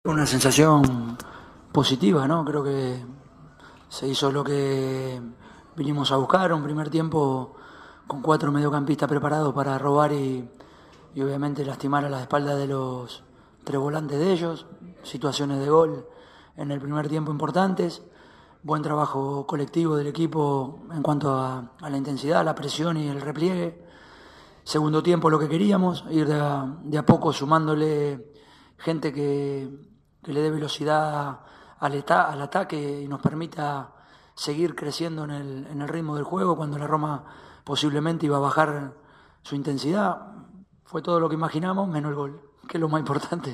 Una sensación positiva, ¿no? Creo que se hizo lo que vinimos a buscar, un primer tiempo con 4 mediocampistas preparados para robar y obviamente lastimar a la espalda de los 3 volantes de ellos, situaciones de gol en el primer tiempo importantes, buen trabajo colectivo del equipo en cuanto a la intensidad, la presión y el repliegue. Segundo tiempo lo que queríamos, ir de a poco sumándole gente que le dé velocidad al ataque y nos permita seguir creciendo en el ritmo del juego cuando la Roma posiblemente iba a bajar su intensidad. Fue todo lo que imaginamos, menos el gol, que es lo más importante.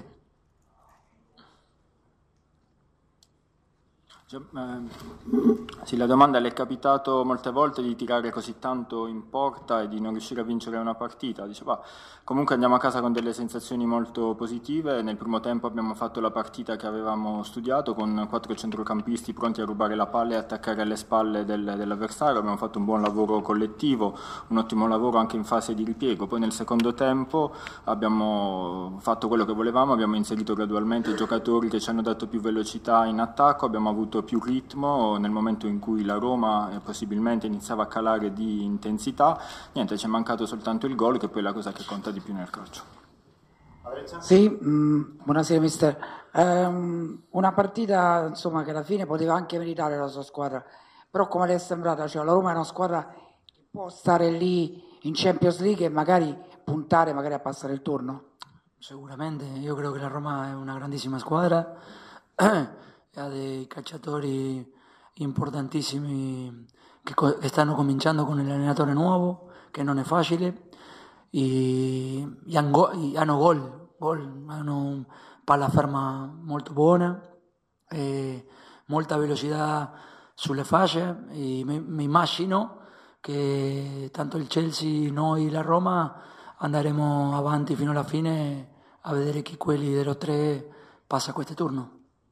Sì, la domanda: le è capitato molte volte di tirare così tanto in porta e di non riuscire a vincere una partita? Diceva, comunque andiamo a casa con delle sensazioni molto positive. Nel primo tempo abbiamo fatto la partita che avevamo studiato con 4 centrocampisti pronti a rubare la palla e attaccare alle spalle dell'avversario. Abbiamo fatto un buon lavoro collettivo, un ottimo lavoro anche in fase di ripiego. Poi nel secondo tempo abbiamo fatto quello che volevamo, abbiamo inserito gradualmente i giocatori che ci hanno dato più velocità in attacco, abbiamo avuto più ritmo nel momento in cui la Roma possibilmente iniziava a calare di intensità. Niente, ci è mancato soltanto il gol, che poi è la cosa che conta di più nel calcio. Sì, buonasera mister. Una partita insomma che alla fine poteva anche meritare la sua squadra, però come le è sembrata? Cioè, la Roma è una squadra che può stare lì in Champions League e magari puntare magari a passare il turno? Sicuramente, io credo che la Roma è una grandissima squadra, ha dei calciatori importantissimi che stanno cominciando con il allenatore nuovo, che non è facile, hanno gol, hanno palla ferma molto buona, molta velocità sulle fasce e mi immagino che tanto il Chelsea, noi, la Roma andremo avanti fino alla fine a vedere chi quelli dello 3 passa a questo turno.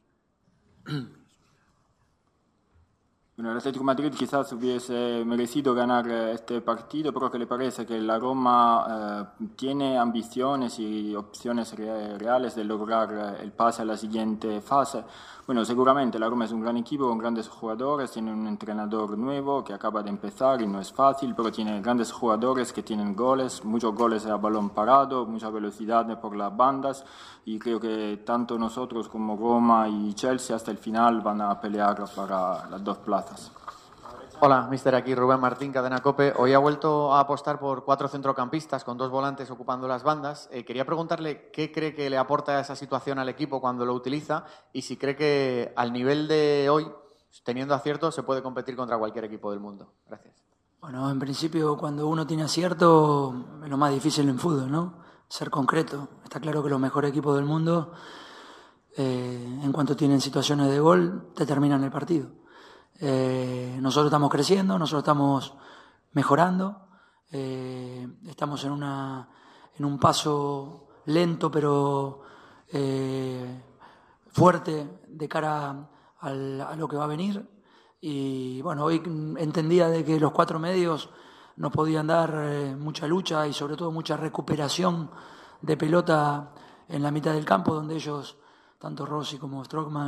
Bueno, el Atlético de Madrid quizás hubiese merecido ganar este partido, pero ¿qué le parece que la Roma tiene ambiciones y opciones reales de lograr el pase a la siguiente fase? Bueno, seguramente la Roma es un gran equipo con grandes jugadores, tiene un entrenador nuevo que acaba de empezar y no es fácil, pero tiene grandes jugadores que tienen goles, muchos goles a balón parado, mucha velocidad por las bandas, y creo que tanto nosotros como Roma y Chelsea hasta el final van a pelear para las dos plazas. Hola, mister, aquí Rubén Martín, Cadena COPE. Hoy ha vuelto a apostar por 4 centrocampistas con 2 volantes ocupando las bandas. Quería preguntarle qué cree que le aporta esa situación al equipo cuando lo utiliza y si cree que al nivel de hoy, teniendo acierto, se puede competir contra cualquier equipo del mundo. Gracias. Bueno, en principio cuando uno tiene acierto es lo más difícil en fútbol, ¿no? Ser concreto. Está claro que los mejores equipos del mundo, en cuanto tienen situaciones de gol, determinan el partido. Nosotros estamos creciendo, nosotros estamos mejorando, estamos en un paso lento pero fuerte de cara a lo que va a venir, y bueno, hoy entendía de que los 4 medios nos podían dar mucha lucha y sobre todo mucha recuperación de pelota en la mitad del campo, donde ellos, tanto Rossi como Strootman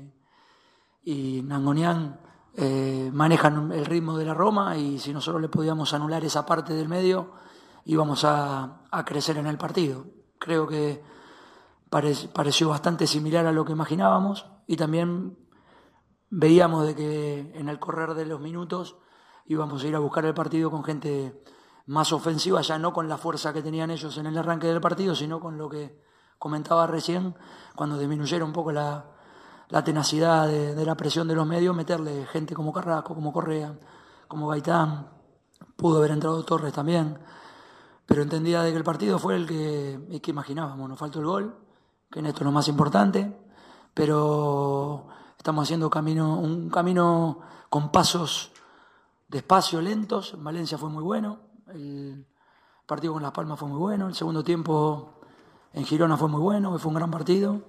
y Nangonian, manejan el ritmo de la Roma, y si nosotros le podíamos anular esa parte del medio íbamos a crecer en el partido. Creo que pareció bastante similar a lo que imaginábamos, y también veíamos de que en el correr de los minutos íbamos a ir a buscar el partido con gente más ofensiva, ya no con la fuerza que tenían ellos en el arranque del partido, sino con lo que comentaba recién, cuando disminuyera un poco la tenacidad de la presión de los medios, meterle gente como Carrasco, como Correa, como Gaitán, pudo haber entrado Torres también, pero entendía de que el partido fue el que imaginábamos. Nos faltó el gol, que en esto es lo más importante, pero estamos haciendo un camino con pasos despacio, lentos. En Valencia fue muy bueno, el partido con Las Palmas fue muy bueno, el segundo tiempo en Girona fue muy bueno, fue un gran partido.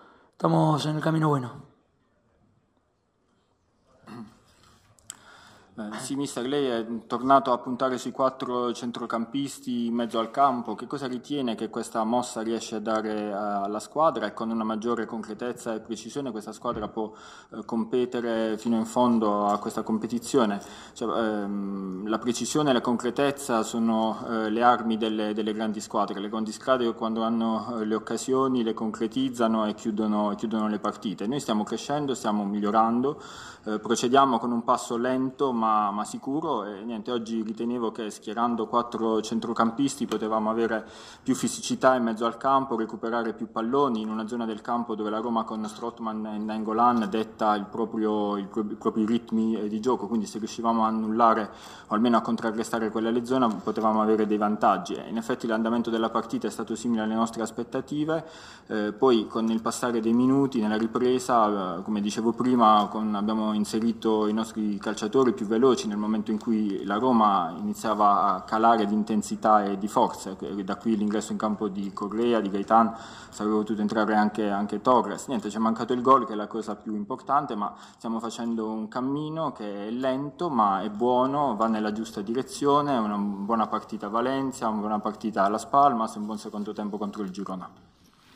Estamos en el camino bueno. Sì, mister, lei è tornato a puntare sui 4 centrocampisti in mezzo al campo. Che cosa ritiene che questa mossa riesce a dare alla squadra, e con una maggiore concretezza e precisione questa squadra può competere fino in fondo a questa competizione? Cioè, la precisione e la concretezza sono le armi delle grandi squadre. Le grandi squadre, quando hanno le occasioni, le concretizzano e chiudono le partite. Noi stiamo crescendo, stiamo migliorando, procediamo con un passo lento ma sicuro, e niente, oggi ritenevo che schierando 4 centrocampisti potevamo avere più fisicità in mezzo al campo, recuperare più palloni in una zona del campo dove la Roma con Strootman e Nainggolan detta i propri ritmi di gioco, quindi se riuscivamo a annullare o almeno a contrarrestare quella zona potevamo avere dei vantaggi. In effetti l'andamento della partita è stato simile alle nostre aspettative, poi con il passare dei minuti nella ripresa, come dicevo prima, abbiamo inserito i nostri calciatori più veloci nel momento in cui la Roma iniziava a calare di intensità e di forza, da qui l'ingresso in campo di Correa, di Gaetan, sarebbe potuto entrare anche Torres. Niente, ci è mancato il gol, che è la cosa più importante, ma stiamo facendo un cammino che è lento ma è buono, va nella giusta direzione. Una buona partita a Valencia, una buona partita alla Spalmas, un buon secondo tempo contro il Girona.